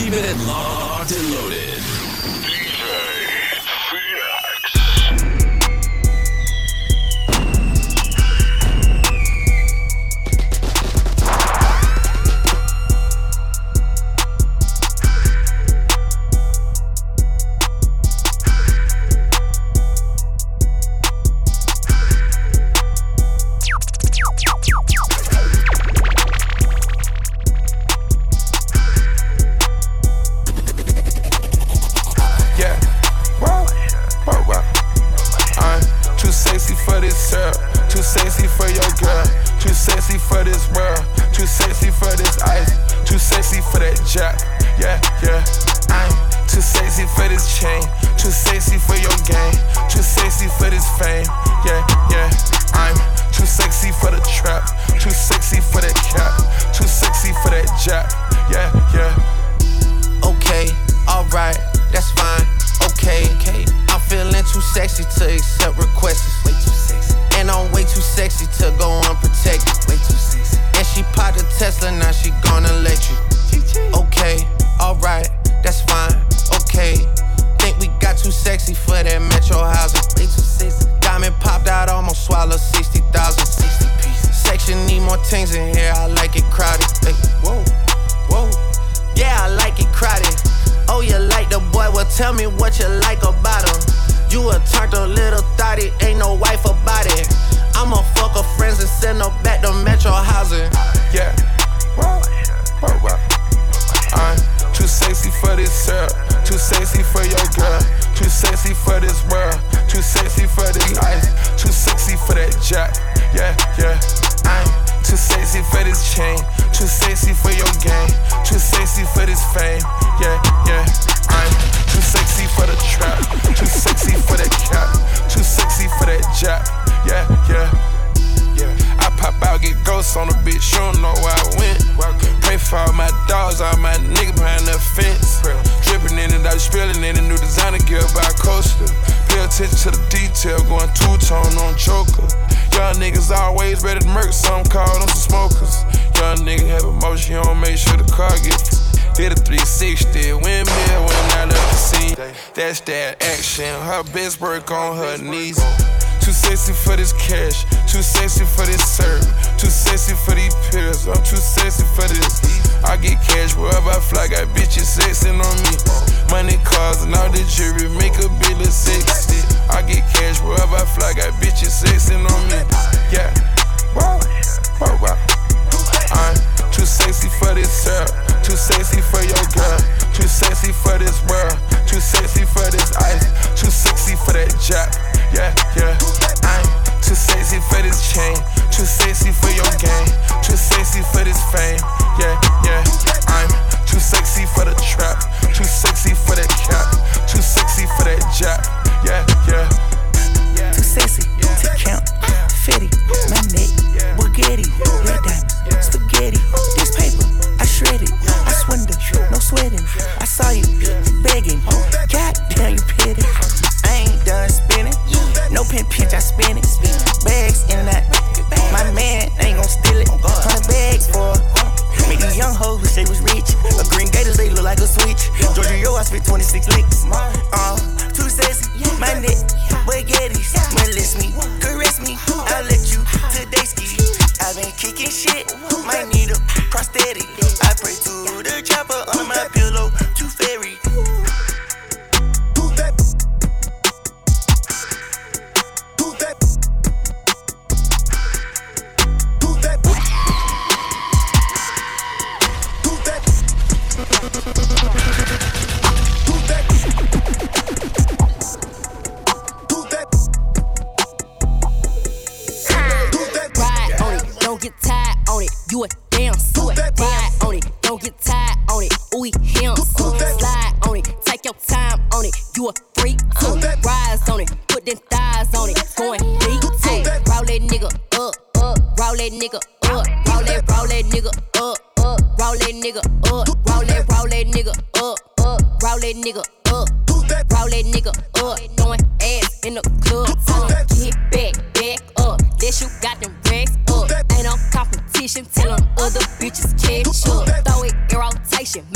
Keeping it locked and loaded. That's that action, her best work on her knees. Too sexy for this cash, too sexy for this serve, too sexy for these pills, I'm too sexy for this. I get cash wherever I fly, got bitches sexing on me. Money, cars, and all the jewelry make a bill of sexy. I get cash wherever I fly, got bitches sexing on me. Yeah, wow, wow, wow. I'm too sexy for this syrup, too sexy for your girl, too sexy for this world, too sexy for this ice, too sexy for that jack. Yeah, yeah. I'm too sexy for this chain, too sexy for your game, too sexy for this fame. Yeah, yeah. I'm too sexy for the trap, too sexy for that cap, too sexy for that jack. Yeah, yeah. Too sexy to count, fitty, my neck, Bugatti, red diamonds, spaghetti. This paper, I shred it, I swindle, no sweating. I saw you begging, goddamn you petty. I ain't done spinning, no pinch, I spin it. Bags in and out, my man ain't gon' steal it. 100 bags for make these young hoes wish they was rich. A green gators, they look like a switch. Giorgio, I spit 26 licks. Too sexy, my neck, Bugattis. Molest me, caress me, I'll let you today ski. I've been kicking shit, might need a prosthetic. I pray to the chopper under my pillow, too fairy. You a damn suit. Ride on it, don't get tired on it. Ooh, him. Slide on it, take your time on it. You a freak too. Rise on it, put them thighs on it. Going deep too. Roll that nigga up, up. Roll that nigga up. Roll that nigga up, up. Roll that nigga up. Roll that nigga up, up. Roll that nigga up. Roll that nigga up. Throwing ass in the club. Tell him get back up. That you got them racks up. Ain't no competition. Tell them other bitches catch up. Throw it in rotation. Make that nigga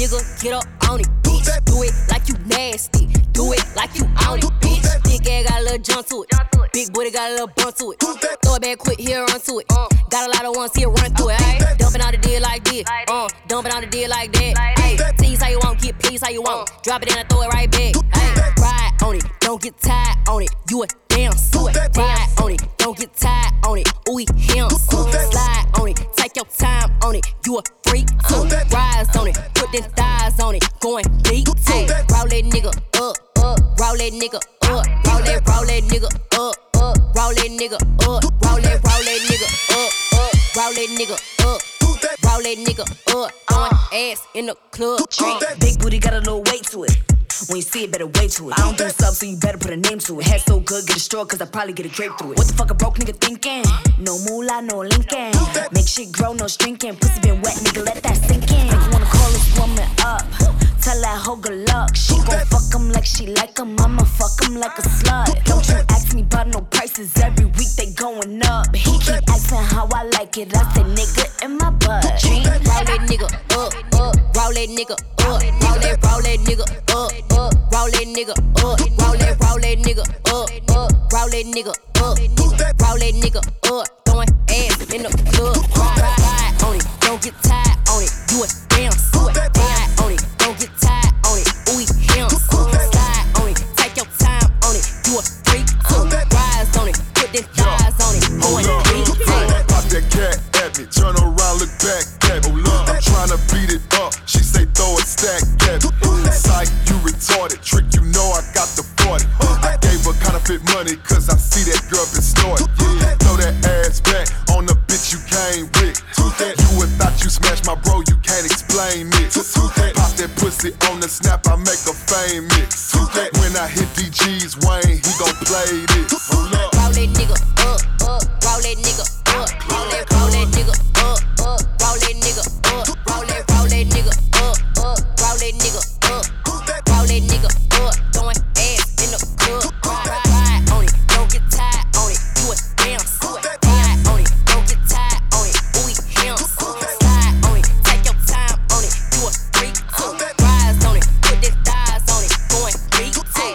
nigga, get up on it, bitch. Do it like you nasty. Do it like you on it, bitch. Big ass got a little jump to it. Big booty got a little bump to it. Throw it back quick, here run to it. Got a lot of ones here, run through it. Ay, dumping on the deal like this. Dumping on the deal like that. Ay, tease how you want, get please how you want. Drop it in and throw it right back. Ay, ride on it, don't get tired on it. You a damn suit. Ride on it, don't get tired on it. Ooh, him. Slide on it, take your time on it. You a freak too. Rise on it, put them thighs on it. Going deep too. Roll that nigga up. Roll that nigga up, roll that nigga up, roll that nigga up, roll that nigga up, roll that nigga up, roll that nigga up, throwing ass in the club. Big booty got a little weight to it. When you see it, better wait to it. I don't do subs, so you better put a name to it. Head so good, get a stroke, cause I probably get a drape through it. What the fuck a broke nigga thinking? No moolah, no linking. Make shit grow, no shrinking. Pussy been wet, nigga, let that sink in. Nigga wanna call this woman up. Tell that hoe good luck. She gon' fuck him like she like him. I'ma fuck him like a slut. Don't you ask me about no prices. Every week they going up. He keep asking how I like it. I say nigga in my butt. Roll that nigga up, roll that nigga up, roll that nigga up, roll that nigga up, roll that nigga up, roll that nigga up, roll that nigga up, throwing ass in the club. Ride on it, don't get tired on it. You a damn suit. Ride on it, don't get tired on it. Ooh, him. Slide on it, take your time on it. You a freak too. Rise on it, put them thighs on it. Going deep too. Pop that cat at me, turn around, look back at me. I'm tryna beat it up, she say throw it stack at me. Psych, you retarded, trick, you know I got the 40. I gave her counterfeit money, cause I see that girl been snorted. Throw that ass back on the bitch you came with. You would thought you smashed my bro, you can't explain it. Pop that pussy on the snap, I make her famous. When I hit DG's Wayne, he gon' play this. Roll that nigga up, roll that nigga up, roll that nigga up, roll that nigga up, roll that nigga up, roll that nigga up, roll that nigga up, throwing ass in the club. Ride on it, don't get tired on it. You a damn suit. Ride on it, don't get tired on it. Ooh, him. Slide on it, take your time on it. You a freak too. Rise on it, put them thighs on it. Going deep too.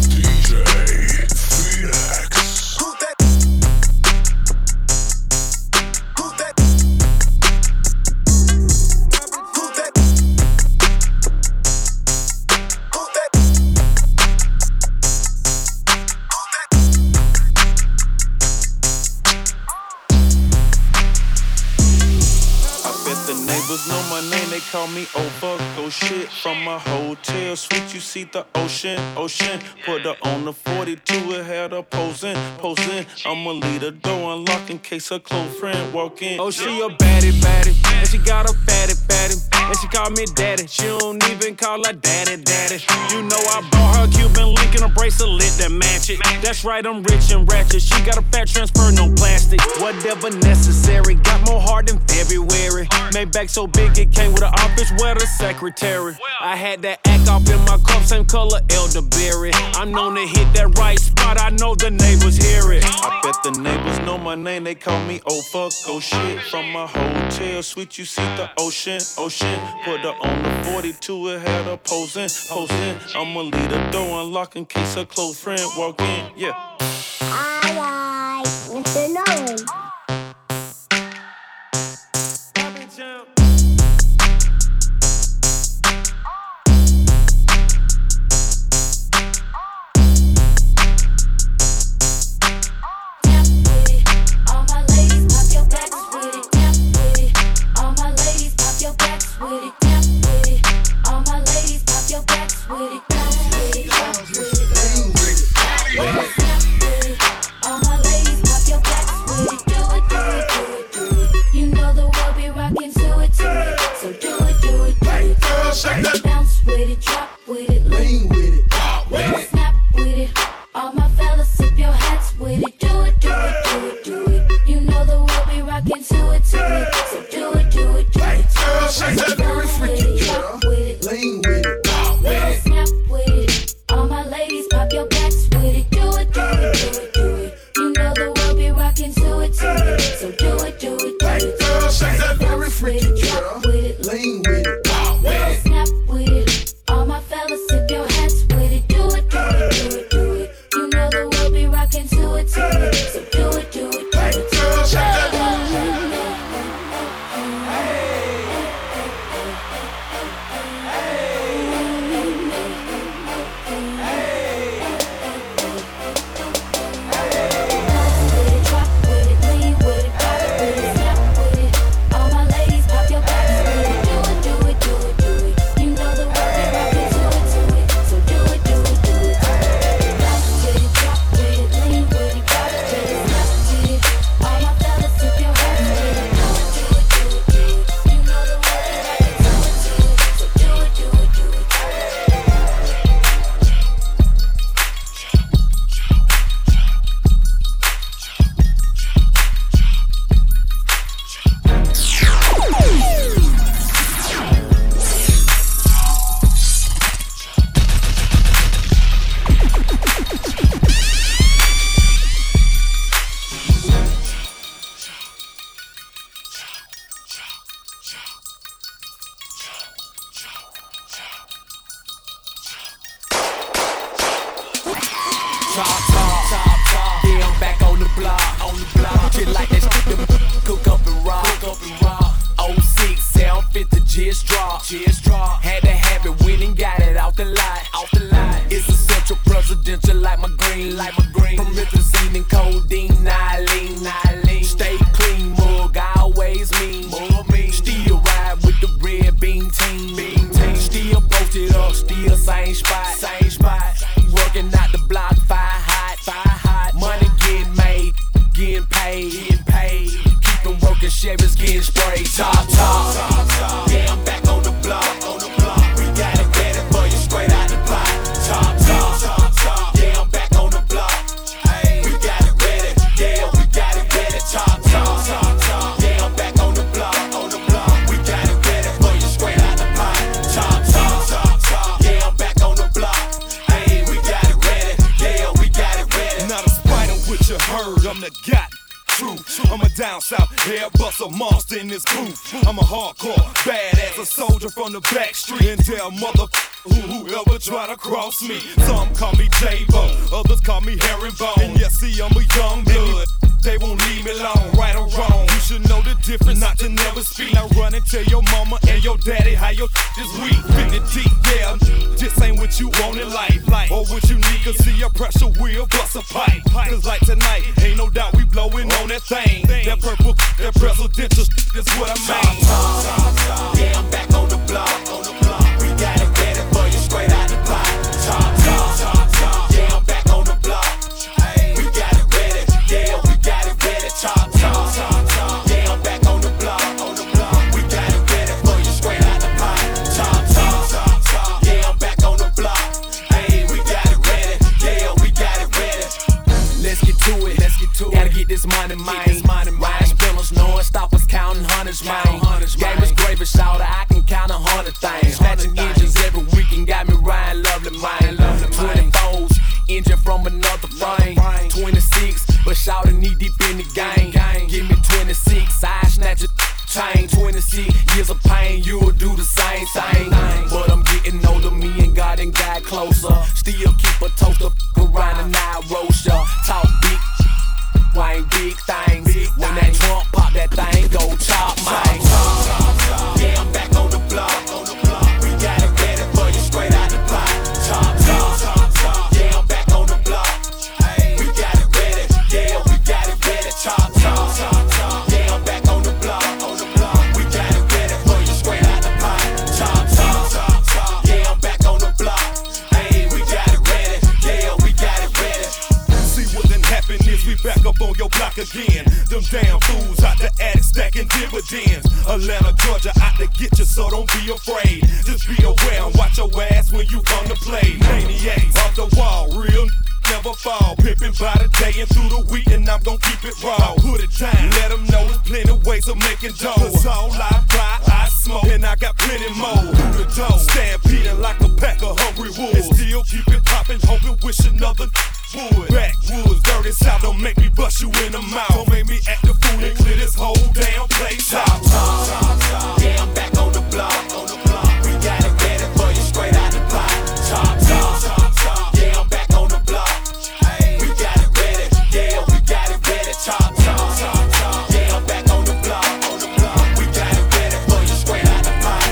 DJ Phoenix. Know my name, they call me over. Go shit from my hotel suite. You see the ocean. Put her on the 42, it had her posing. I'ma leave the door unlocked in case her close friend walk in. Oh, she a baddie, and she got a fatty, and she call me daddy. She don't even call her daddy. You know I bought her Cuban link and a bracelet that match it. That's right, I'm rich and ratchet. She got a fat transfer, no plastic. Whatever necessary, got more heart than February. Made back so big it came with an office where the secretary. I had that act off in my cup, same color elderberry. I'm known to hit that right spot, I know the neighbors hear it. I bet the neighbors know my name, they call me over. Go shit from my hotel suite. You see the ocean. Put her on the 42, it had her posing. I'ma leave the door unlocked in case her close friend walk in. Yeah. I like Mr. Nolan. Bounce with it, drop with it, lean with it, pop with it, snap with it. All my fellas sip your hats with it. Do it, do it, do it, do it. You know the world be rocking to it, so do it, do it, do it. Bounce with it, drop with it, lean with it, pop with it, snap with it. All my ladies pop your backs with it. Do it, do it, do it, do it. You know the world be rocking to it, so do it, do it, do it. Bounce with it, drop with it, lean with it, pop with it, snap with it. top. Yeah, I'm back on the block. Just like that shit, them cook up and rock. 06, 750, just drop. Had to have it, went and got it out the lot. It's essential presidential like my green. Promethazine and codeine, Nylene. Stay clean, mug, I always mean. Still ride with the red beam team. Still posted up, still same spot. Working out the block, fire hot. Money getting made, getting paid. Keep them working, Chevys getting sprayed. Top. Yeah, I'm back on the block. We got it ready for you straight out the pot. Top. Yeah, I'm back on the block. We got it ready. Yeah, we got it ready. Top. Yeah, I'm back on the block. We got it ready for you straight out the pot. Top. Yeah, I'm back on the block. We got it ready. Yeah, we got it ready. Not despite of what you heard, I'm the god. I'm a down south, Airbus a monster in this booth. I'm a hardcore, badass, a soldier from the back street. And tell whoever try to cross me. Some call me J-Bo, others call me Herringbone. And yes, see, I'm a young blood. They won't leave me alone, right or wrong. You should know the difference, not to never speak. Now run and tell your mama and your daddy how your is weak. 50 deep, yeah, this ain't what you want in life. Or what you need, cause see a pressure wheel bust a pipe. Cause like tonight, ain't no doubt we blowing on that thing. That purple, that presidential is what I mean. Yeah, I'm back on the block. We got it ready for you straight out the pot. Top. Yeah, I'm back on the block. We got it ready. Yeah, we got it ready. Top. Yeah, I'm back on the block. We got it ready for you straight out the pot. Top. Yeah, I'm back on the block. We got it ready. Yeah, we got it ready. Let's get to it. Gotta get this money, man. Ryan spinners, knowing stoppers, counting hundreds, man. Game is gravy, shouter, I can count 100 things. Snatching engines every weekend, got me riding lovely, man. 24s, engine from another frame. 26, but shouter knee deep in the game. Give me 26, I snatch a chain. 26 years of pain, you'll do the same thing. But I'm getting older, me and God and God closer. Still keep a toaster around and I roast ya. Talk big. Wayne, big things. When that trunk pop, that thing go chop, man. Yeah, I'm back on the block. We got it ready for you straight out the pot. Top. Yeah, I'm back on the block. We got it ready. Yeah, we got it ready. Top. Yeah, I'm back on the block. We got it ready for you straight out the pot. Top. Yeah, I'm back on the block. We got it ready. Yeah, we got it ready. See what done happened is we back up on your block again. Them damn fools out the attic stacking dividends. Atlanta, Georgia out to get you, so don't be afraid. Just be aware and watch your ass when you come to play. Maniacs off the wall, real never fall. Pimping by the day and through the week, and I'm gon' keep it raw. Put it down, let them know there's plenty ways of making dough. Cause all I buy, I smoke, and I got plenty more. Through the door, stampeding like a pack of hungry wolves. And still keep it poppin', hoping, wish another would. Backwoods, dirty south, don't make me bust you in the mouth. Don't make me act the fool and clear this whole damn place out. Yeah, I'm back on the block. We got it ready for you straight out the pot. Top. Yeah, I'm back on the block. We got it ready. Yeah, we got it ready. Top. Yeah, I'm back on the block. We got it ready for you straight out the pot.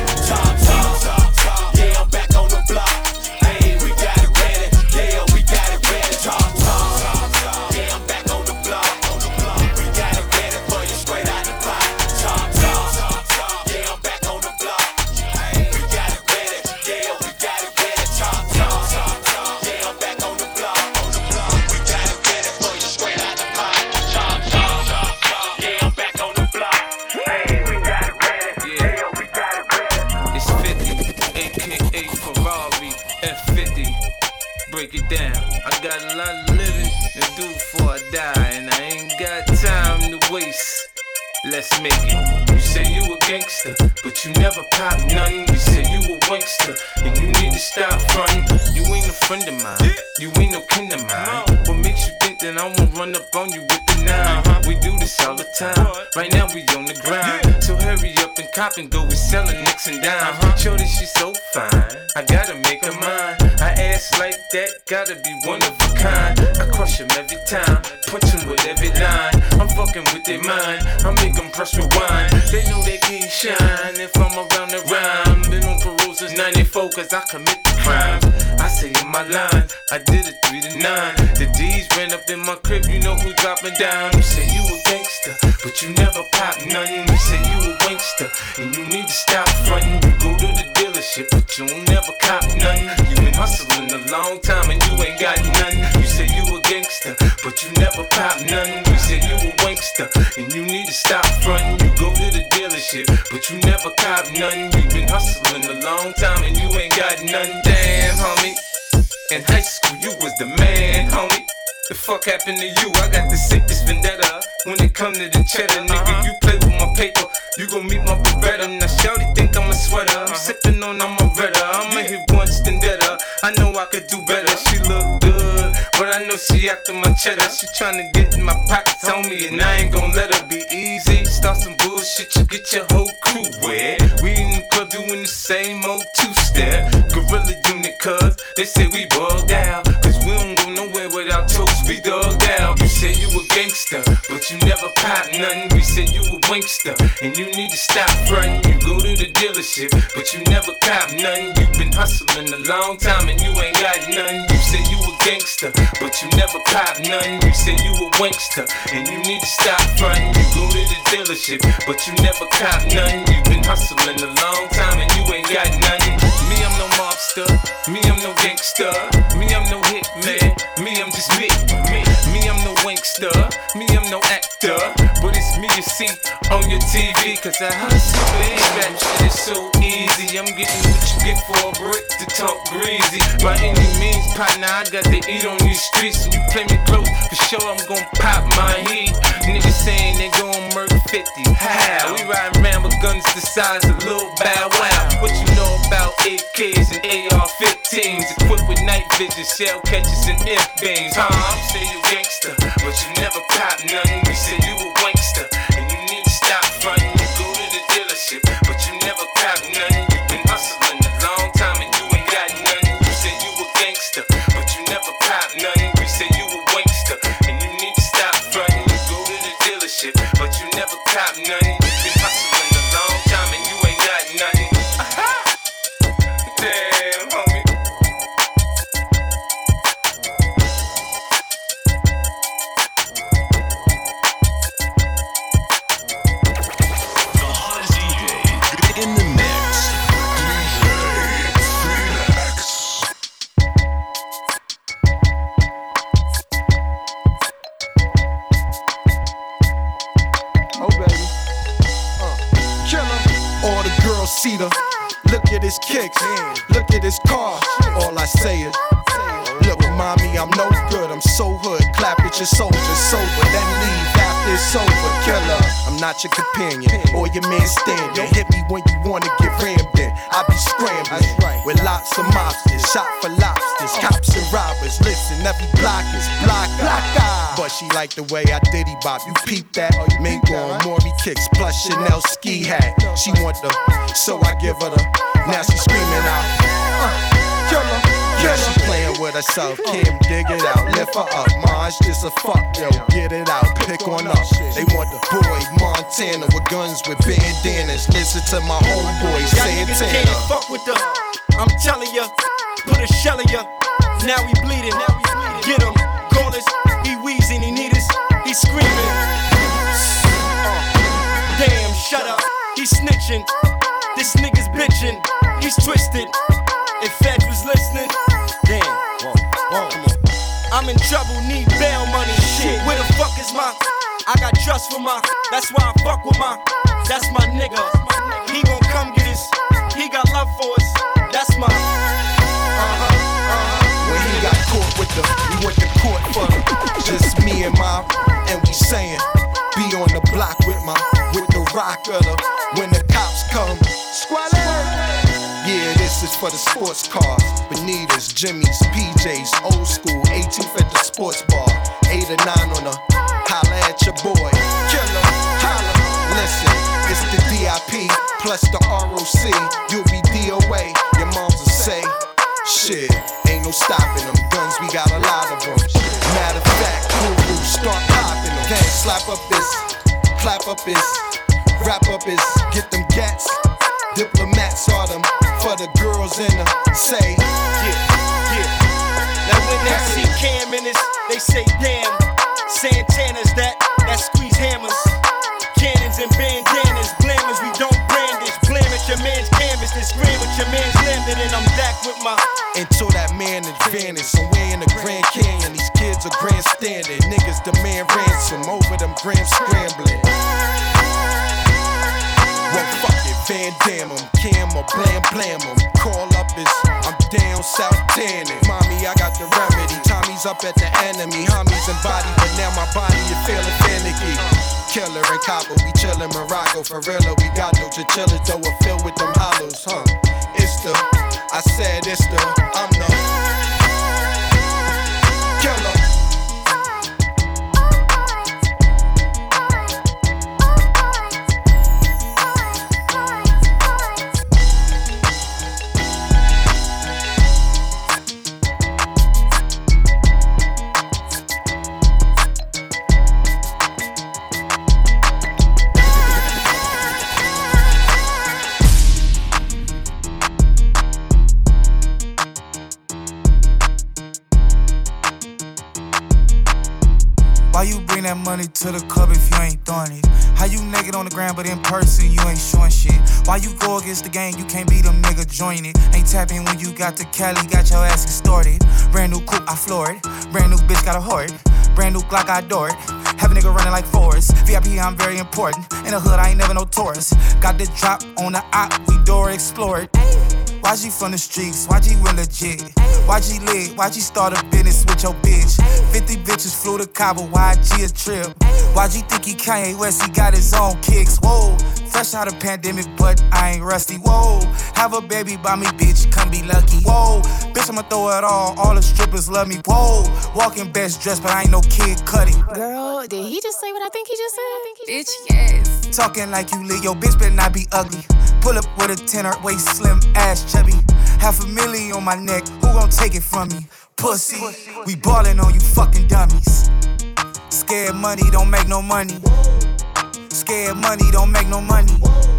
Top. Yeah, I'm back on the block. We got it ready. Yeah, we got it ready. Top. Yeah, I'm back on the block. We got it ready for you straight out the pot. Top. Yeah, I'm back on the block. We got it ready. Yeah, we got it ready. Top. Yeah, I'm back on the block. We got it ready for you straight out the pot. Top. Yeah, I'm back on the block. We got it ready. Yeah, we got it ready. It's 50, aka Ferrari F50. Break it down. I got a lot of living to do before I die, and I ain't got time to waste. Let's make it. You say you a gangster, but you never pop nothing. You say you a wankster, and you need to stop frontin'. You ain't a friend of mine, you ain't no kin of mine. What makes you think that I won't run up on you with the 9? We do this all the time. Right now we on the grind, so hurry up and cop and go. We sellin' nicks and dimes. Shorty, she so fine, I gotta make her mine. I asked ass like that, gotta be one of a kind. I crush him every time, punch him with every line. I'm fucking with their mind, I make them press rewind. They know they can't shine if I'm around the rhyme. Been on parole since 94 cause I commit the crimes. I say in my line, I did it 3 to 9. The D's ran up in my crib, you know who dropping down. You say you a gangster, but you never pop nothing. You say you a wankster, and you need to stop frontin'. You go to the dealership, but you don't never cop nothing. You been hustling a long time and you ain't got nothing. You say you a gangster, but you never pop nothing. You say you a wankster, and you need to stop frontin'. You go to the dealership, but you never cop nothing. You been hustling a long time and you ain't got nothing. Damn, homie, in high school you was the man, homie. The fuck happened to you? I got the sickest vendetta. When it come to the cheddar, nigga, you play with my paper, you gon' meet my Beretta. Now shawty think I'm a sweater, I'm sippin' on I'm a redder. I'ma hit once then better. I know I could do better. She look good, but I know she after my cheddar. She tryna get in my pockets on me, and I ain't gon' let her be easy. Start some bullshit, you get your whole crew wet. We in the club doing the same old two-step. Gorilla unit, cuz they say we bugged out, cause we don't go nowhere without toast, we thugged out. You say you a gangster, but you never pop nothing. We say you a wankster, and you need to stop frontin'. You go to the dealership, but you never cop nothing. You been hustling a long time and you ain't got nothing. You say you a gangster, but you never pop nothing. You say you a wankster, and you need to stop frontin'. You go to the dealership, but you never cop nothing. You been hustling a long time and you ain't got nothing. Me, I'm no mobster. Me, I'm no gangster. Me, I'm no hitman. Me, I'm just me. Me, I'm no wankster. Me, I'm no actor. But it's me you see on your TV, cause I hustle, baby. That shit is so easy. I'm getting what you get for a brick to talk greasy. By any means, partner, I got to eat on these streets. And you play me close, for sure I'm gon' pop my heat. Niggas saying they gon' murder 50. How? We riding around with guns the size of Lil Bow Wow. What you know about AKs and AR-15s? Equipped with night vision, shell catchers and F-beams. You say you gangster, but you never pop nothing. We say you a wankster, and you need to stop frontin'. You go to the dealership, but you never cop nothing. You been hustling a long time and you ain't got nothing. You say you a gangster, but you never cop nothing. We say you a wankster, and you need to stop frontin'. You go to the dealership, but you never cop nothing. You been hustling a long time and you ain't got nothing. Damn, homie. In the mix. Oh baby, killer. All the girls see the. Look at his kicks, look at his car. All I say is, look, mommy, I'm no good. I'm so hood. Clap at your soldiers sober, then leave after it's over. Killer, I'm not your companion or your man standing. Hit me when you wanna get rammed in. I be scrambling with lots of mobsters, shot for lobsters, cops and robbers. Listen, every block is block. But she like the way I diddy bop. You peep that? Mingo and Maury kicks plus Chanel ski hat. She want the, so I give her the. Now she screaming out, killer. Now she playing with herself, Kim, dig it out, lift her up. Mine's just a fuck, yo, get it out, pick on up. They want the boy Montana with guns with bandanas. Listen to my homeboy Santana. Can't fuck with the, I'm telling ya, put a shell in ya. Now he bleeding, get him, call us. He wheezing, he need us, he screaming. Damn, shut up, he snitching. This nigga's bitching, he's twisted. If Fed was listening, damn, I'm in trouble, need bail money. Shit, where the fuck is my? I got trust for my, that's why I fuck with my, that's my nigga. He gon' come get us, he got love for us, that's my. When he got caught with the, we went to court for the, just me and my, and we saying, be on the block with the rock of the, when the cops come, squalor. Yeah, this is for the sports cars, Bonitas, Jimmy's, PJs, old school, 18th at the sports bar, 8 or 9 on the, holla at your boy, killer, holla. Listen, it's the DIP plus the ROC, you'll be DOA, your moms will say, shit, ain't no stopping up is get them gats. Diplomats are them for the girls in the say. Yeah. Now when they see Cam in this, they say damn. Santana's that squeeze hammers. Cannons and bandanas, blammers, we don't brandish. Blam at your man's canvas, then scream with your man's landed, and I'm back with my. Until that man advantage, somewhere in the Grand Canyon, these kids are grandstanding. Niggas demand ransom over them grams scrambling. Well, fuck it, Van Damme 'em, Cam or blam 'em. Call up is, I'm down south tanning. Mommy, I got the remedy. Tommy's up at the enemy. Homies embodied, but now my body is feeling finicky. Killer and copper, we chillin' Morocco. For real, we got no chinchillas, though we're filled with them hollows, huh? It's the, I said it's the, I'm the killer. Why you bring that money to the club if you ain't throwing it? How you naked on the ground but in person you ain't showing shit? Why you go against the game, you can't be them nigga join it? Ain't tapping when you got to Cali, got your ass extorted. Brand new coupe, I floor it. Brand new bitch, got a hoard. Brand new Glock, I adore it. Have a nigga running like Forrest. VIP, I'm very important. In the hood, I ain't never no tourist. Got the drop on the op, we door explored. YG from the streets, YG real legit. YG lit, YG start a business with your bitch. 50 bitches flew to Cabo, YG a trip. YG think he Kanye West, he got his own kicks. Whoa, fresh out of pandemic, but I ain't rusty. Whoa, have a baby by me, bitch, come be lucky. Whoa, bitch, I'ma throw it all the strippers love me. Whoa, walking best dressed, but I ain't no Kid Cudi. Girl, did he just say what I think he just said? Bitch, yes. Talking like you lit, yo, bitch better not be ugly. Pull up with a tenor, waist slim, ass chubby. $500,000 on my neck, who gon' take it from me? Pussy, we ballin' on you fucking dummies. Scared money don't make no money. Scared money don't make no money.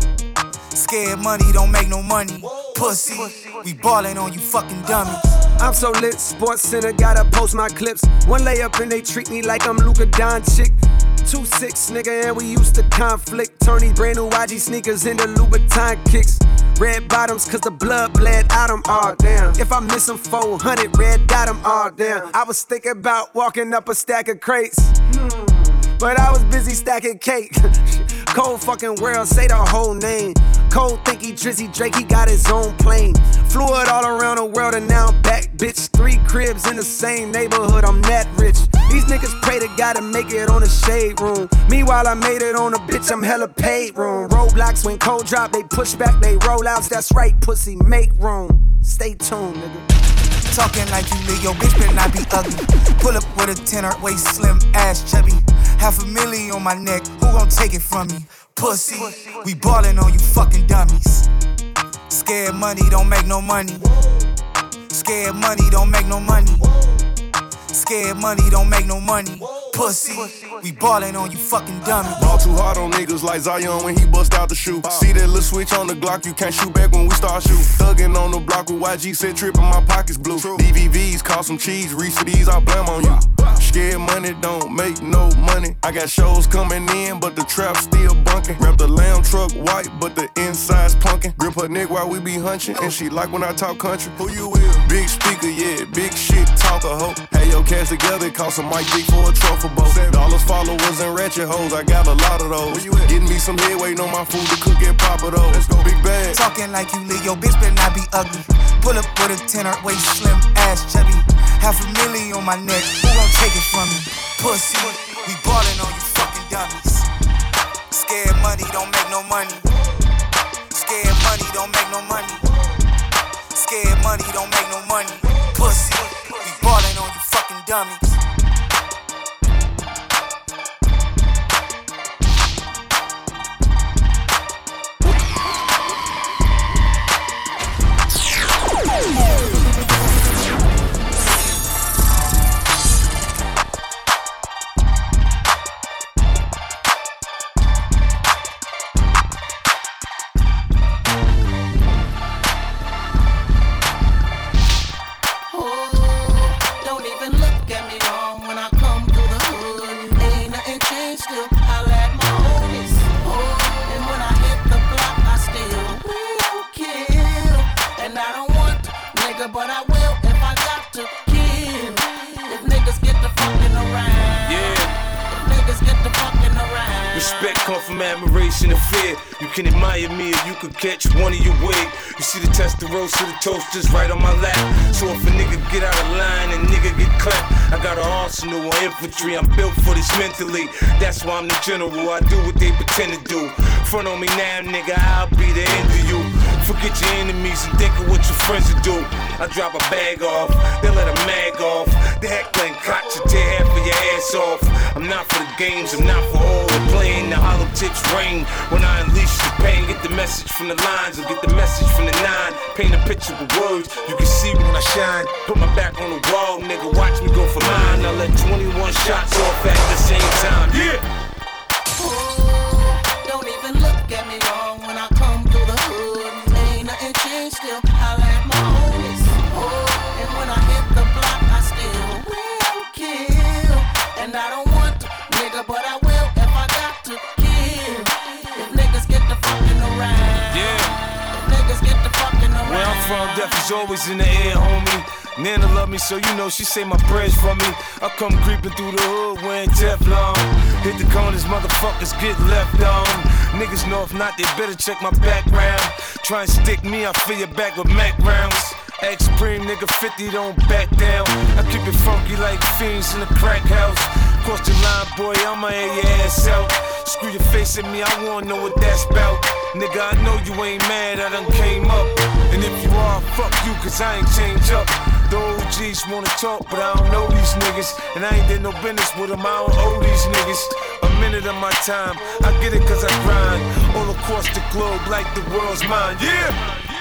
Scared money don't make no money. Pussy, we ballin' on you fucking dummies. I'm so lit, Sports Center, gotta post my clips. One layup and they treat me like I'm Luka Doncic. 2-6, nigga, and we used to conflict. Turn these brand new YG sneakers into Louboutin kicks. Red bottoms, cause the blood bled out them, all damn. If I miss them 400, red dot them, all damn. I was thinking about walking up a stack of crates, but I was busy stacking cake. Cold fucking world, say the whole name. Cole think he Drizzy Drake, he got his own plane. Flew it all around the world and now I'm back, bitch. 3 cribs in the same neighborhood, I'm that rich. These niggas pray to God to make it on the shade room. Meanwhile, I made it on a bitch, I'm hella paid room. Roadblocks when cold drop, they push back, they roll outs. That's right, pussy, make room. Stay tuned, nigga. Talking like you lit, yo, bitch better not be ugly. Pull up with a tenor, waist slim, ass chubby. $500,000 on my neck, who gon' take it from me? Pussy, we ballin' on you fucking dummies. Scared money don't make no money. Scared money don't make no money. Scared money don't make no money. Pussy, we ballin' on you fucking dummies. Ball too hard on niggas like Zion when he bust out the shoe. See that little switch on the Glock, you can't shoot back when we start shoot. Thuggin' on the block with YG, said trippin', my pockets blue. DVVs, cost some cheese, Reese for these, I blame on you. Scared money don't make no money. I got shows coming in, but the trap still bunkin'. Wrap the lamb truck white, but the inside's punkin'. Grip her neck while we be hunchin', and she like when I talk country. Who you with? Big speaker, yeah, big shit, talk a hoe. Hey, yo, cash together, cost some Mike G for a truffle boat. $7 followers and ratchet hoes, I got a lot of those. Where you at? Getting me some head, waiting on my food to cook and pop it over. Let's go, big bag. Talking like you lit, yo, bitch better not be ugly. Pull up with a tenor, waist slim, ass chubby. $500,000 on my neck, who gon' take it from me? Pussy, we ballin' on you fucking dummies. Scared money don't make no money. Scared money don't make no money. Scared money don't make no money. Pussy, we ballin' on you fucking dummies. nigga, but I will if I got to kill. If niggas get the fucking around. Yeah. If niggas get the fucking around. Respect come from admiration and fear. You can admire me or you could catch one of your wig. You see the test the roast to the toast just right on my lap. So if a nigga get out of line and nigga get clapped, I got an arsenal of infantry. I'm built for this mentally. That's why I'm the general. I do what they pretend to do. Front on me now, nigga, I'll be the end of you. Forget your enemies and think of what your friends will do. I drop a bag off, they let a mag off. The heckling cocks will tear half of your ass off. I'm not for the games, I'm not for all the playing. The hollow tips rain when I unleash the pain. Get the message from the lines or get the message from the nine. Paint a picture with words, you can see when I shine. Put my back on the wall, nigga, watch me go for mine. I let 21 shots off at the same time, yeah. Don't even look at me wrong when I come through the hood. Ain't nothing changed, still holla at my homies. And when I hit the block, I still will kill. And I don't want to, nigga, but I will if I got to kill. If niggas get the fucking around. Yeah. If niggas get the fucking around. Where I'm from, death is always in the air, homie. Nana love me, so you know she say my prayers for me. I come creeping through the hood wearing Teflon. Hit the corners, motherfuckers get left on. Niggas know if not, they better check my background. Try and stick me, I fill your back with Mac rounds. X-Supreme, nigga 50, don't back down. I keep it funky like fiends in the crack house. Cross the line, boy, I'ma air your ass out. Screw your face at me, I wanna know what that's about. Nigga, I know you ain't mad, I done came up. And if you are, fuck you, cause I ain't changed up. The OGs wanna talk, but I don't know these niggas. And I ain't did no business with them, I don't owe these niggas a minute of my time. I get it cause I grind all across the globe like the world's mine, yeah!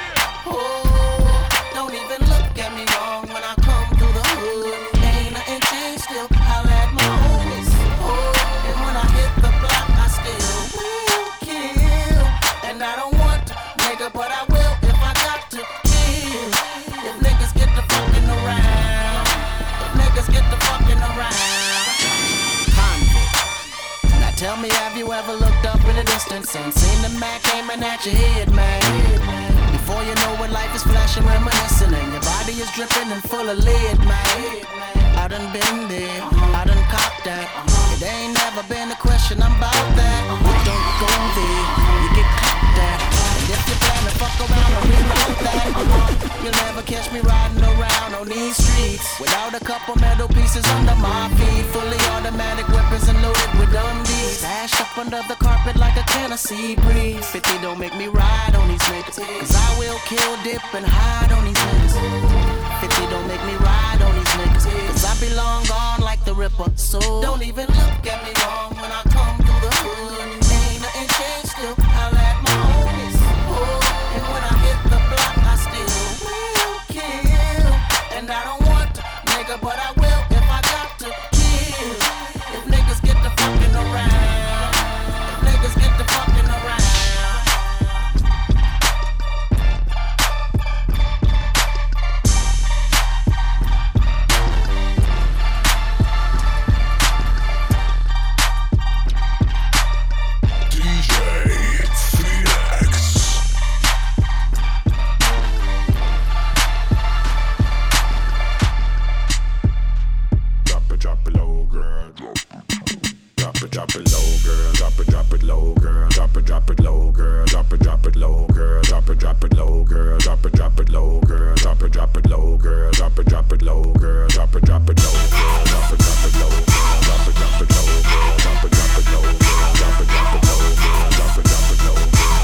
Don't even look at me wrong when I come through the hood. Ain't nothing changed, still holla at my homies. And when I hit the block, I still will kill. And I don't want to, nigga, but I will if I got to kill. If niggas get the fucking around. If niggas get the fucking around. Convict. Now tell me, have you ever looked up in the distance and seen the Mac aiming at your head, man? Before you know it, life is flashing, reminiscing, and your body is dripping and full of lead, man. I done been there, I done copped that. It ain't never been a question, I'm about that. You don't go there, you get copped at. And if you plan to fuck around, I'll reroute that. You'll never catch me riding around on these streets without a couple metal pieces under my feet. Fully automatic weapons and loaded with dummies. Stashed up under the carpet like a Tennessee breeze. 50 don't make me ride on these niggas, cause I will kill, dip, and hide on these niggas. 50 don't make me ride on these niggas, cause I be long gone like the Ripper. So don't even look at me wrong when I come through the hood. Ain't nothing changed, still holla at my homies. And when I hit the block, I still will kill. And I don't want to, nigga, but I will if I got to kill. If niggas get the fucking around. If niggas get the fucking around. Drop it low, girl. Drop it low, girl. Drop it low, girl. Drop it low, girl. Drop it low, girl. Drop it low, girl. Drop it low, girl. Drop it low, girl. Drop it low, girl. Drop it low, girl. Drop it low, girl. Drop it low, girl. Drop it low, girl. Drop it low, girl. Drop it low,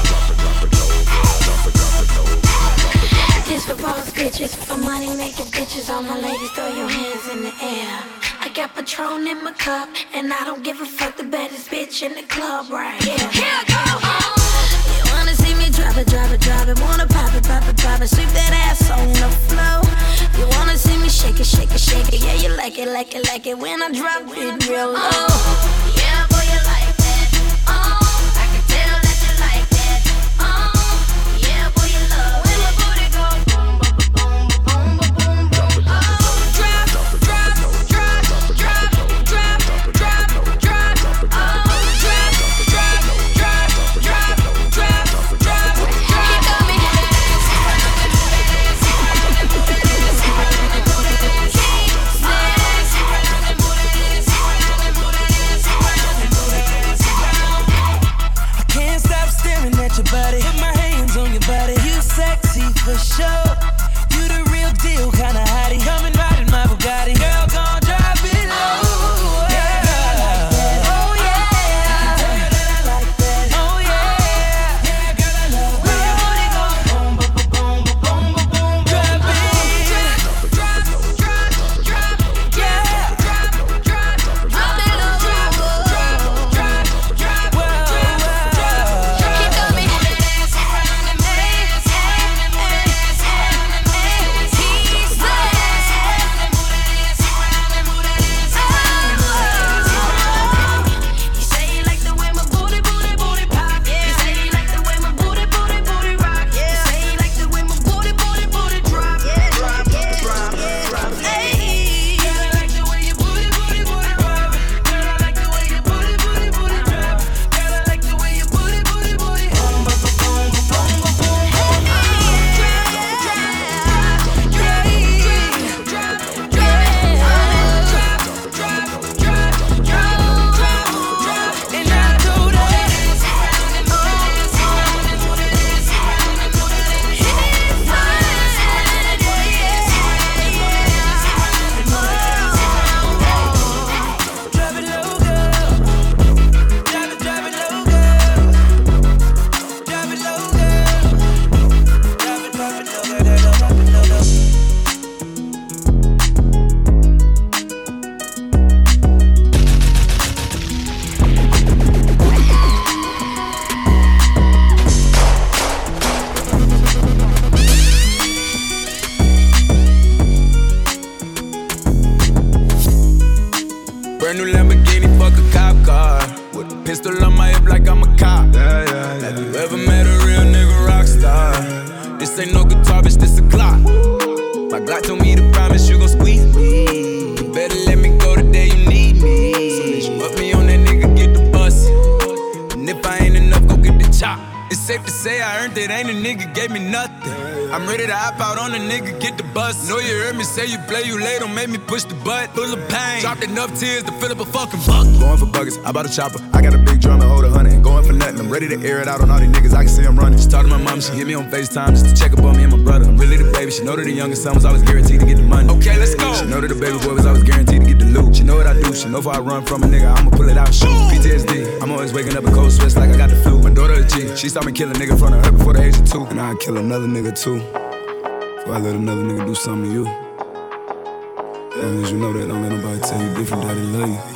girl. This for boss bitches, for money making bitches. All my ladies, throw your hands in the air. I got Patron in my cup, and I don't give a fuck, the baddest bitch in the club right here. Here go! You wanna see me drop it, wanna pop it, sweep that ass on the floor. You wanna see me shake it, yeah, you like it when I drop it real low. Yeah, boy, you like that. I can tell that you like that. Yeah, boy, you love when my booty go boom, boom, boom, boom, boom, boom. for sure. You the real deal, kinda hottie. Coming right in my Bugatti. Girl, gon' drive it low. Brand new Lamborghini, fuck a cop car. With a pistol on my hip like I'm a cop. Have you ever met a real nigga rock star? This ain't no guitar, bitch, this a Glock. My Glock told me to promise you gon' squeeze me. You better let me go the day you need me. So bitch, you up me on that nigga, get the bus. And if I ain't enough, go get the chop. It's safe to say I earned it, ain't a nigga gave me nothing. I'm ready to hop out on a nigga, get the bus. Know you heard me say you play, you late, don't make me push the butt. Full of pain, dropped enough tears to fill up a fucking bucket. Going for buggers, I bought a chopper. I got a big drum and hold 100. Ain't going for nothing, I'm ready to air it out on all these niggas, I can see I'm running. She talked to my mom, she hit me on FaceTime just to check up on me and my brother. I'm really the baby, she know that the youngest son was always guaranteed to get the money. Okay, let's go. She know that the baby boy was always guaranteed to get the loot. She know what I do, she know if I run from a nigga, I'ma pull it out and shoot. PTSD, I'm always waking up in cold sweats like I got the flu. My daughter a G, she saw me kill a nigga in front of her before the age of 2. And I'd kill another nigga too. Before I let another nigga do something to you. As long as you know that, don't let nobody tell you different, daddy love you.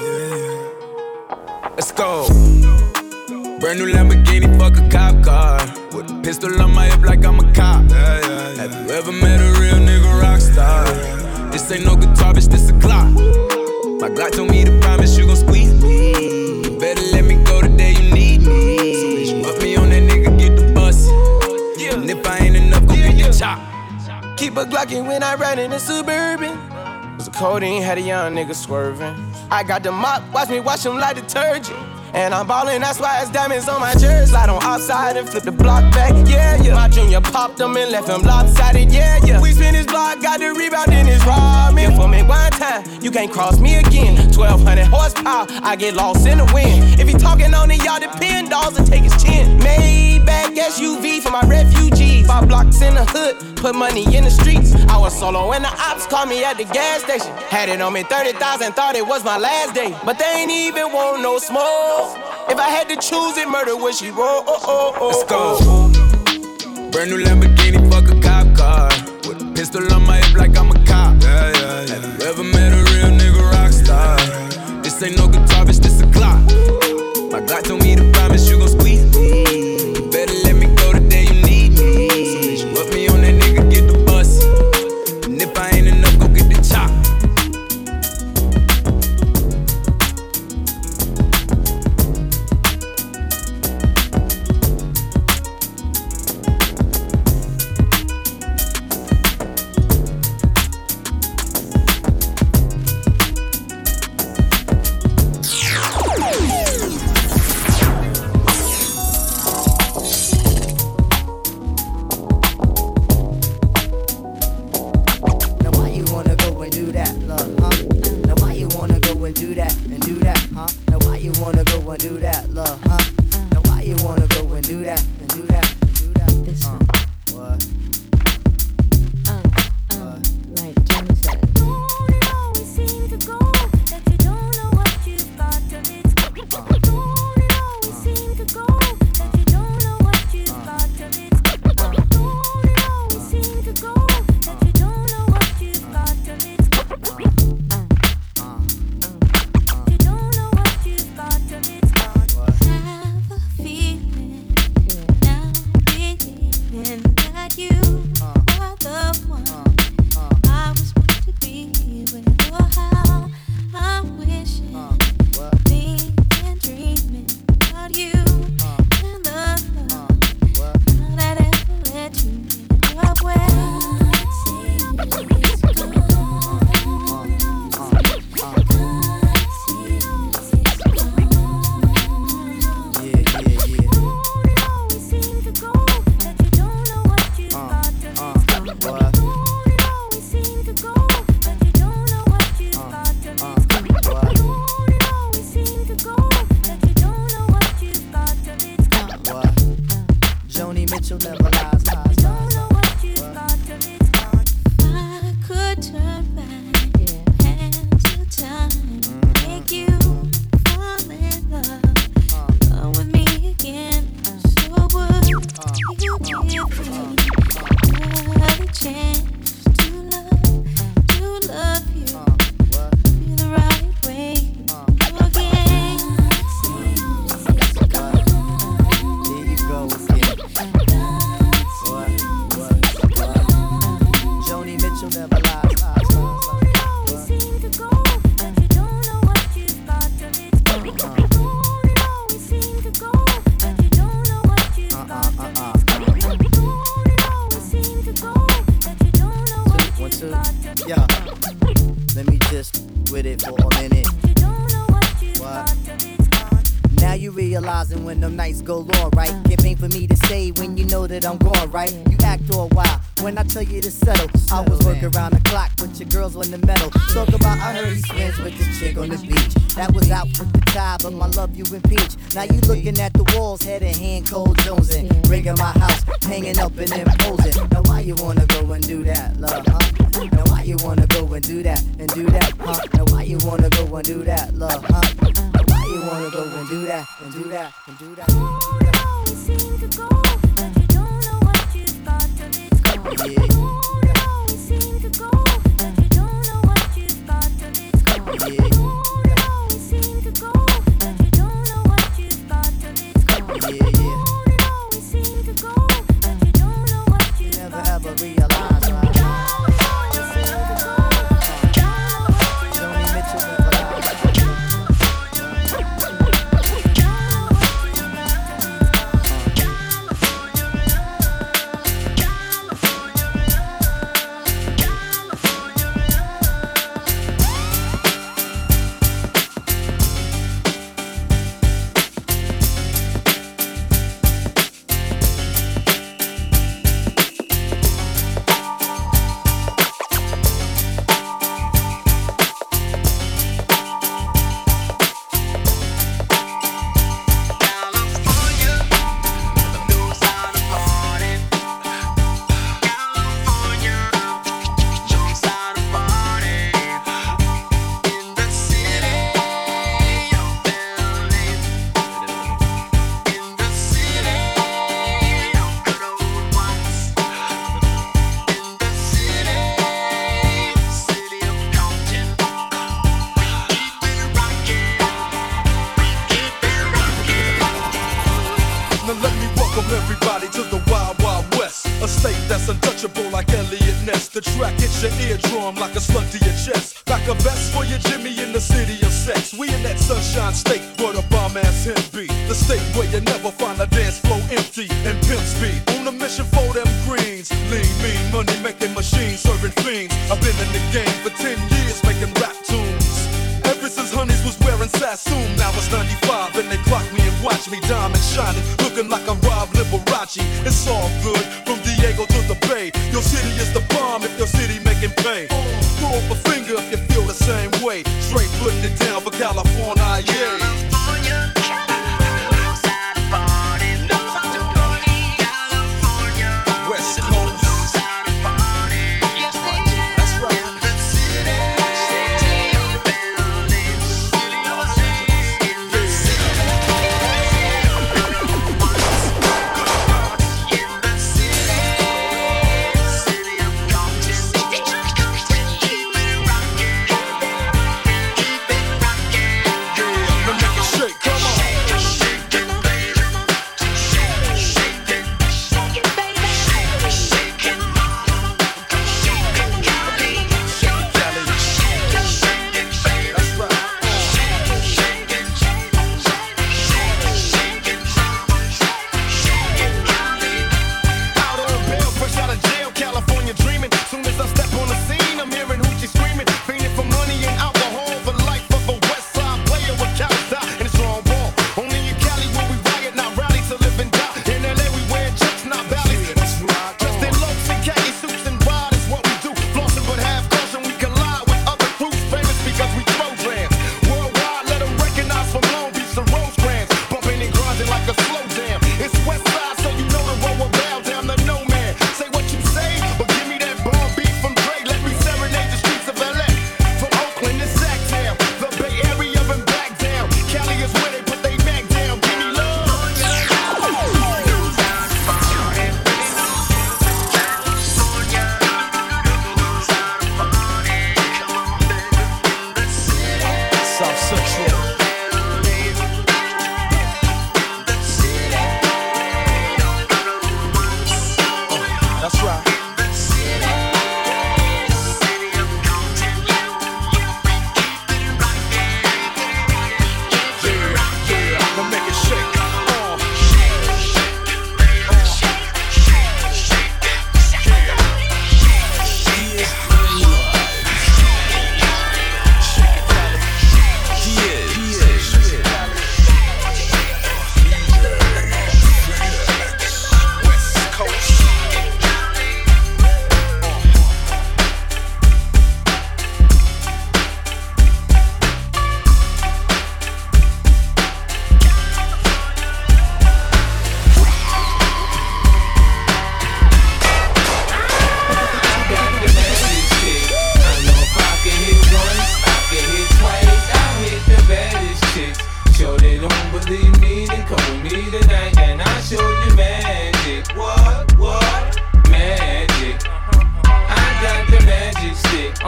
Let's go. Brand new Lamborghini, fuck a cop car. With a pistol on my hip like I'm a cop. Have you ever met a real nigga rock star? This ain't no guitar, bitch, this a Glock. My Glock told me to promise you gon' squeeze me. You better let me go the day you need me. So bitch, you up me on that nigga, get the bus. And if I ain't enough, go get your chop. Keep a Glockin' when I ride in a Suburban. Was a codeine, had a young nigga swerving. I got the mop, watch me wash him like detergent. And I'm ballin', that's why it's diamonds on my jersey. Slide on outside and flip the block back, yeah, yeah. My junior popped him and left him lopsided, yeah, yeah. We spin his block, got the rebound in his ramen. For me one time, you can't cross me again. 1200 horsepower, I get lost in the wind. If he talking on it, y'all depend, dolls and take his chin. Maybach SUV for my refugees. 5 blocks in the hood, put money in the streets. I was solo and the ops called me at the gas station. Had it on me 30,000, thought it was my last day. But they ain't even want no smoke. If I had to choose it, murder would she roll? Let's go. Brand new Lamborghini, fuck a cop car. With a pistol on my hip like I'm a cop. Have you ever met a real nigga rock star? This ain't no guitar, bitch, this a Glock. My Glock told me to promise you gon' squeeze me. You better let me go the day you need me. So bitch, you up me on that nigga, get the bus. And if I ain't enough, go get the chop. with it for a minute. What? Now you realizing when them nights go on, right? It ain't for me to say when you know that I'm gone, right? You act all wild when I tell you to settle. I was working around the clock with your girls on the metal. Talk about I heard he's friends with this chick on the beach. That was out with the tie, but my love you impeach. Now you looking at the walls, head in hand, cold jonesing. Rigging my house, hanging up and imposing. Now why you wanna go and do that, love, huh? Now why you wanna go and do that, huh? Now why you wanna go and do that, love, huh? Now why you wanna go and do that, and do that, and do that, and do that? You seem to go, but you don't know what you've got till it's gone. Yeah. You seem to go, but you don't know what you've got till it's gone. Yeah. You seem to go, but you don't know what you've got till it's gone. Yeah, yeah. You seem to go, but you don't know what you've got. Never ever realize, right?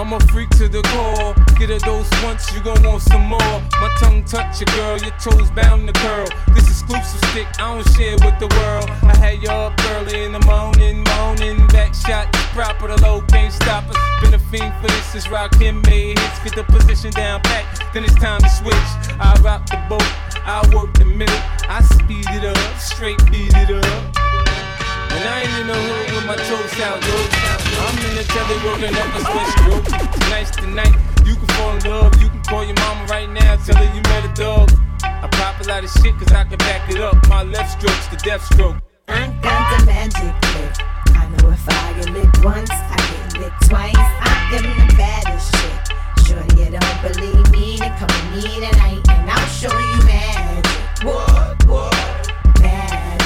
I'm a freak to the core. Get a dose once, you gon' want some more. My tongue touch your girl, your toes bound to curl. This exclusive stick, I don't share with the world. I had you up early in the morning, back shot proper, the low can't stop us. Been a fiend for this, is Rakim made hits. Get the position down pat, then it's time to switch. I rock the boat, I work the middle, I speed it up, straight beat it up. And I ain't in the hood with my toes out, yo. I'm in the telly working up a switch, bro. Tonight's the night, you can fall in love. You can call your mama right now, tell her you met a dog. I pop a lot of shit cause I can back it up. My left stroke's the death stroke. I got the magic lick. I know if I get licked once, I get licked twice. I am the baddest chick. Shorty, you don't believe me, then come with me tonight and I'll show you magic. What? Magic.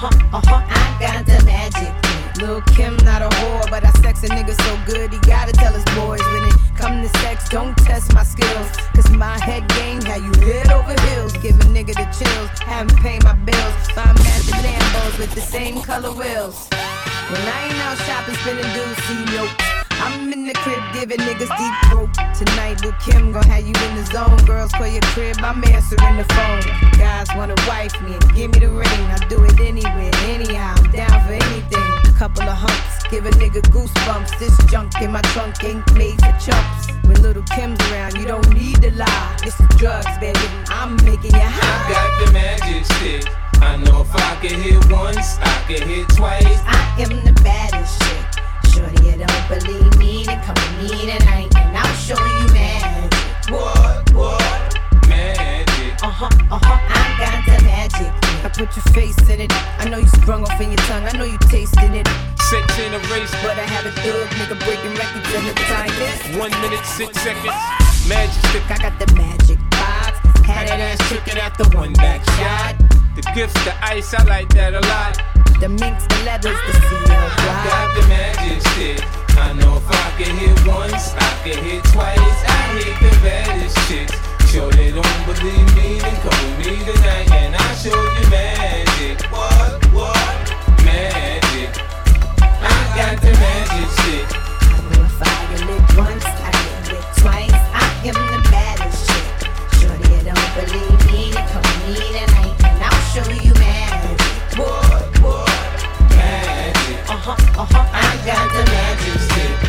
I got the magic. Lil' Kim not a whore, but I sex a nigga so good he gotta tell his boys when it come to sex, don't test my skills. Cause my head game had you head over heels. Give a nigga the chills, haven't paid my bills. Buy matching Lambos with the same color wheels. When I ain't out shopping, spending dues, see no. I'm in the crib giving niggas deep throat. Tonight, Lil' Kim gon' have you in the zone. Girls call your crib, I'm answering the phone. Guys wanna wife me and give me the ring. I do it anywhere, anyhow, I'm down for anything. Couple of humps, give a nigga goosebumps. This junk in my trunk ain't made for chumps. When Little Kim's around, you don't need to lie. It's the drugs, baby, I'm making you high. I got the magic stick. I know if I can hit once, I can hit twice. I am the baddest chick. Shorty, you don't believe me, then come with me tonight and I'll show you magic. What? Magic. I got the magic. I put your face in it. I know you sprung off in your tongue. I know you tasted it. Sex in a race, but I have a thug nigga breaking records in the time is 1 minute, 6 seconds. Magic stick. I got the magic vibes. Had that ass chicken at the one back shot. The gifts, the ice, I like that a lot. The minks, the leathers, the CL. I got the magic stick. I know if I can hit once, I can hit twice. I hit the baddest chicks. Sure they don't believe me, then come with me tonight and I'll show you magic. What? Magic. I got the magic shit. I know if I get lit once, I get lit twice. I am the baddest chick. Shorty, you don't believe me, then come with me tonight and I'll show you magic. What? Magic. I got the magic stick.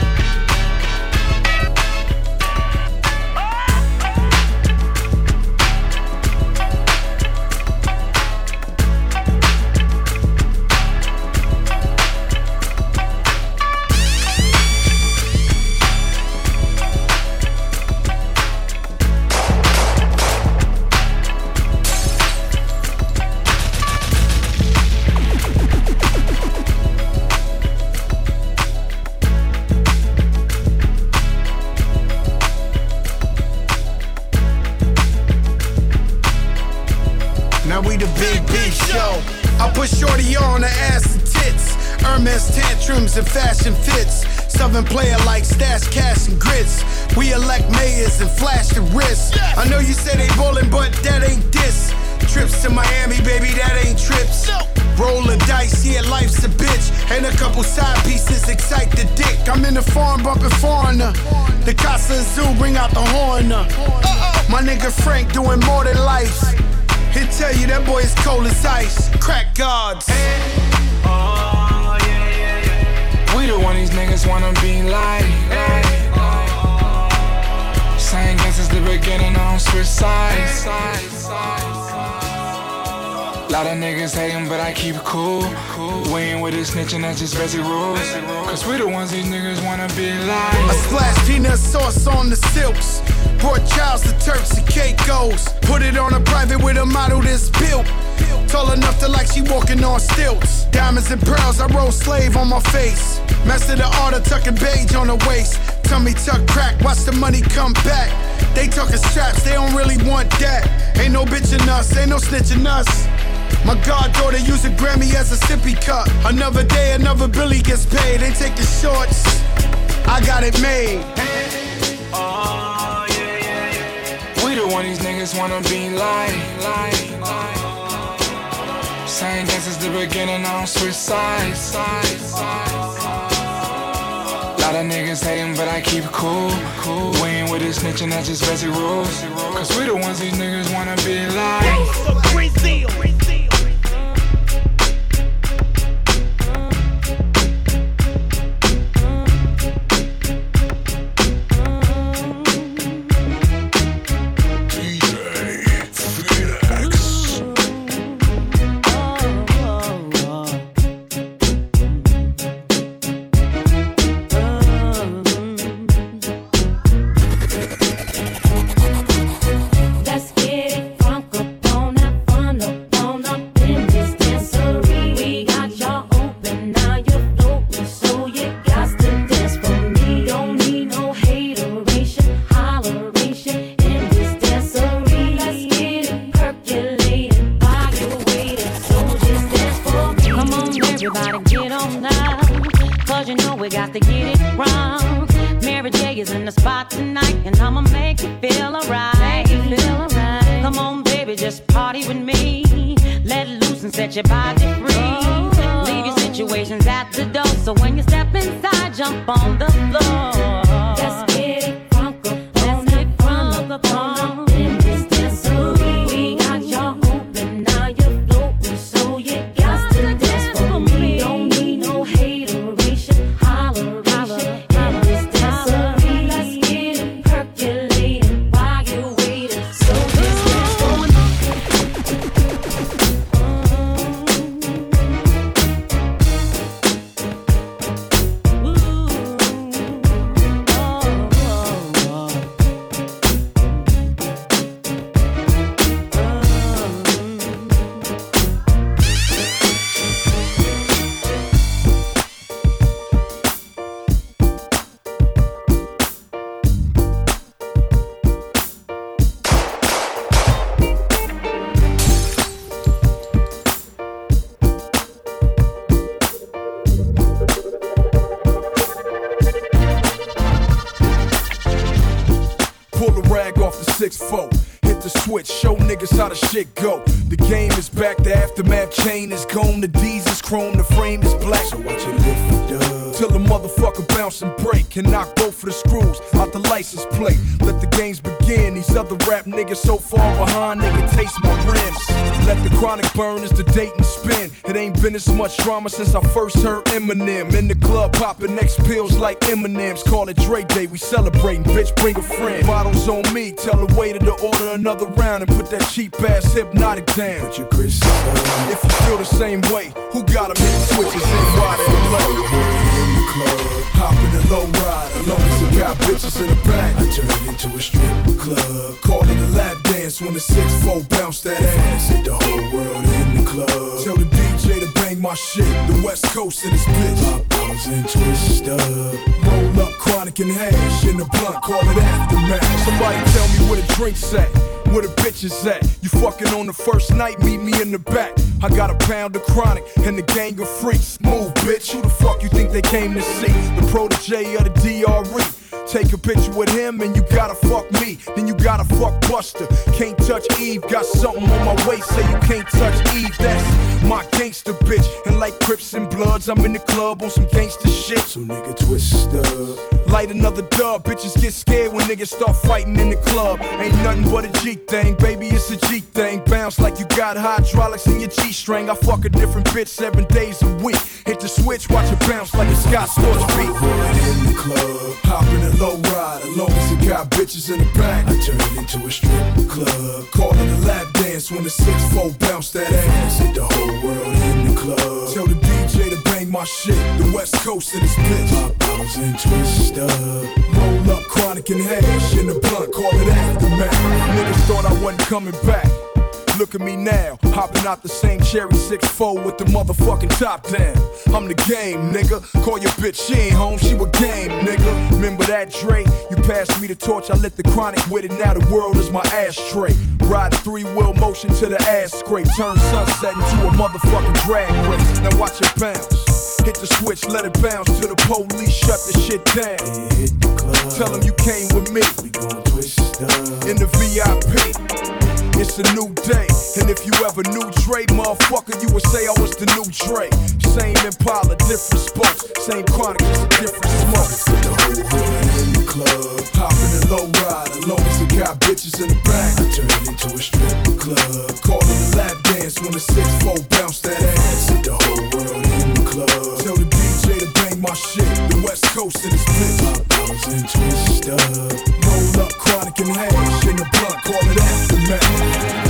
Tantrums and fashion fits. Southern player like stash, cash, and grits. We elect mayors and flash the wrist. I know you say they ballin', but that ain't this. Trips to Miami, baby, that ain't trips. Rollin' dice, yeah, life's a bitch. And a couple side pieces excite the dick. I'm in the farm bumpin' foreigner. The Casa Zoo bring out the horn. My nigga Frank doing more than life. He'll tell you that boy is cold as ice. Crack guards. We the one these niggas wanna be like. Same guess since the beginning, I don't switch sides. Lot of niggas hatin', but I keep it cool. We ain't with this snitching, that's just basic rules. Cause we the ones these niggas wanna be like. I splash peanut sauce on the silks. Brought Charles to Turks and Caicos. Put it on a private with a model that's built. Tall enough to like she walking on stilts. Diamonds and pearls, I roll slave on my face. Master the art of tucking beige on the waist. Tummy tuck crack, watch the money come back. They talking straps, they don't really want that. Ain't no bitchin' us, ain't no snitching us. My goddaughter use a Grammy as a sippy cup. Another day, another Billy gets paid. They take the shorts, I got it made. We the one these niggas wanna be like. Same guess since the beginning, I don't switch sides. Lot of y'all niggas hating, but I keep it cool. We ain't with this snitching, that's just basic rules. Cause we the ones these niggas wanna be like. Brazil. Your body free. Leave your situations at the door. So when you step inside, jump on the floor. Let's get it crunk up in this dancery. We got y'all open, now you're floating, so you got to dance for me. Don't need no hateration, holleration in this dancery. Let's get it percolating while you're waiting. So this dance for me. Pull the rag off the 6-4. Hit the switch, show niggas how the shit go. The game is back, the aftermath chain is gone. The D's is chrome, the frame is black. So watch it lift it up till the motherfucker bounce and break and knock both of the screws out the license plate. Let the games begin. These other rap niggas so far behind, nigga taste my rims. Let the chronic burn as the date and spin. It ain't been as much drama since I first heard Eminem. In the club popping X pills like M&M's. Call it Dre Day, we celebrating, bitch, bring a friend. Bottles on me, tell the waiter to order another round and put that cheap ass Hypnotic down. Put your Chris on. If you feel the same way, who got 'em hit switches in wide and low? In the club, hop in the low ride. As long as you got bitches in the back, I turn it into a strip club. Call it a lap dance when the 6-4 bounce that ass. Hit the whole world in the club. Tell the DJ to bang my shit. The West Coast in this bitch. Pop bottles and twist up. Roll up chronic and hash in the blunt. Call it aftermath. Somebody tell me where the drinks at. Where the bitches at? You fucking on the first night, meet me in the back. I got a pound of chronic and the gang of freaks. Move, bitch, who the fuck you think they came to see? The protege of the DRE. Take a picture with him and you gotta fuck me. Then you gotta fuck Buster. Can't touch Eve, got something on my waist, say you can't touch Eve. That's my gangster bitch. And like Crips and Bloods, I'm in the club on some gangster shit. So nigga twist up. Light another dub, bitches get scared when niggas start fighting in the club. Ain't nothing but a G thing, baby, it's a G thing. Bounce like you got hydraulics in your G-string. I fuck a different bitch 7 days a week. Hit the switch, watch it bounce like a Scott Storch beat. In the club, hop in a low ride. As long as you got bitches in the back, I turn it into a strip club. Call it a lap dance when the 6-4 bounce that ass. Hit the whole world in the club. Tell the DJ to bang my shit. The West Coast in this bitch. Pop bottles and twist up. Roll up chronic and hash in the blunt. Call it aftermath. Niggas thought I wasn't coming back. Look at me now, hopping out the same cherry 6-4 with the motherfucking top down. I'm the game, nigga. Call your bitch, she ain't home, she with game, nigga. Remember that, Dre? You passed me the torch, I lit the chronic with it. Now the world is my ashtray. Ride 3-wheel motion to the ass scrape. Turn sunset into a motherfucking drag race. Now watch it bounce. Hit the switch, let it bounce till the police shut the shit down. Hit the club. Tell them you came with me. We gon' twist up. In the VIP. It's a new day, and if you ever knew Dre, motherfucker, you would say I was the new Dre. Same Impala, different spokes. Same Chronic, just a different smoke. The whole hood in the club, hopping a low ride. As long as it got bitches in the back, I turn it into a strip club. Call it a lap dance when the 6'4" bounce that ass. Hit the whole world in the club. Tell the DJ to bang my shit. The West Coast in this bitch. $5 and twist up. Roll up, Chronic and hash in the blunt. Call it aftermath.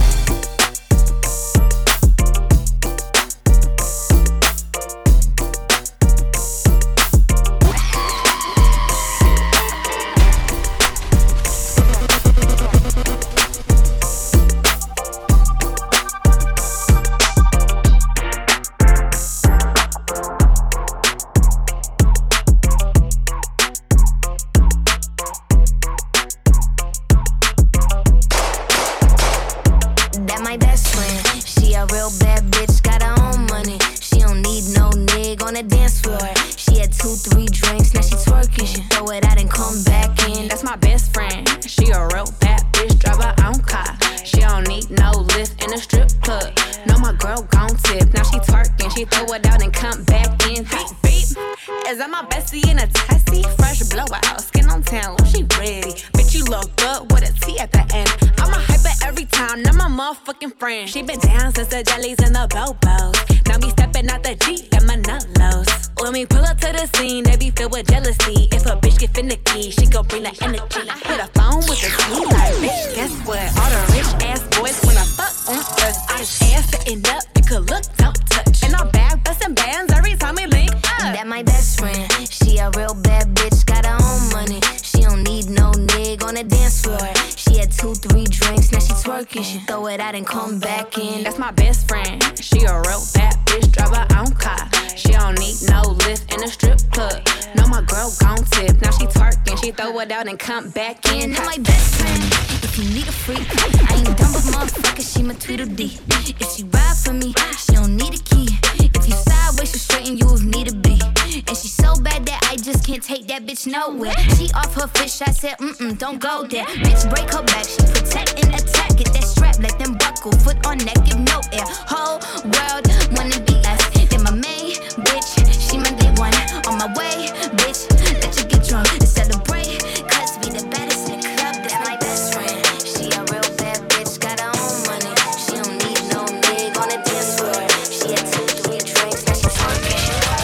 She been down since the jellies and the bobos. Now me stepping out the Jeep and my nullos. When we pull up to the scene, they be filled with jealousy. If a bitch get finicky, she gon' bring the energy. I hit a phone with the key like, bitch, guess what? All the rich ass boys wanna fuck on us. I just ass sitting up, you could look, don't touch. And I'm back bustin' bands every time we link up. That my best friend, she a real bad bitch, got her own money. She don't need no nigga on the dance floor. She had 2-3 drinks, now she twerking. She throw it out and come back in. That's my best friend. She a real bad bitch, drive her own car. She don't need no lift in a strip club. No, my girl gon' tip. Now she twerking, she throw it out and come back in. That's my best friend. If you need a freak, I ain't dumb but motherfucker, she my Tweedledee. If she ride for me, she don't need a key. If you sideways, she straighten you if need to be. And she so bad that I just can't take that bitch nowhere. She off her fish, I said, don't go there. Bitch, break her back, she protect and attack. Get that strap, let them buckle, foot on neck, give no air. Whole world wanna be us. Then my main bitch, she my day one. On my way, bitch, let you get drunk and celebrate. Cause we the baddest in the club, that's my best friend. She a real bad bitch, got her own money. She don't need no nigga on the dance floor. She had 2-3 drinks, now she twerking.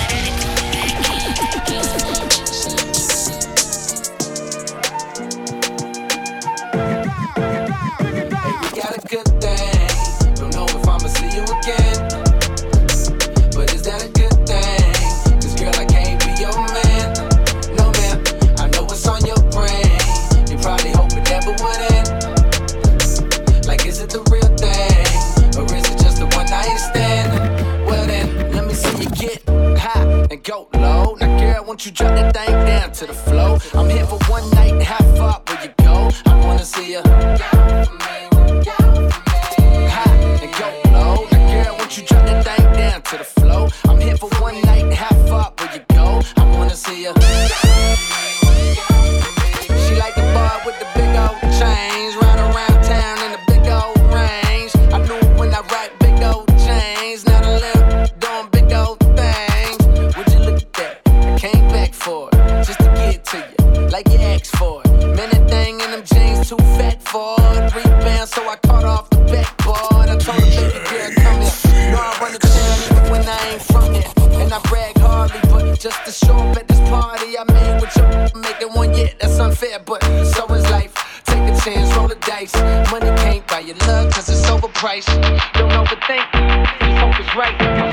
Good thing. Don't know if I'ma see you again, but is that a good thing? Cause girl, I can't be your man. No man, I know what's on your brain. You probably hope it never would end. Like, is it the real thing, or is it just a one night stand? Well then, let me see you get high and go low. Now girl, won't you drop that thing down to the flow? I'm here for one night, how far will you go? I wanna see you. You drop that thing down to the flow. I'm here for one night, how far will you go? I wanna see ya. She like the bar with the big old chains, ride around town in the big old range. I knew it when I write big old chains. Now the lip doing big old things. Would you look at that? I came back for it, just to get to you, like you asked for it. Man, that thing in them jeans too fat for it. Rebound, so I caught off the backboard. I told her, baby girl, come here. I run the town when I ain't from here. And I brag hardly, but just to show up at this party I made with your making one, yeah, that's unfair, but so is life. Take a chance, roll the dice. Money can't buy your love, cause it's overpriced. Don't overthink, just hope it's right.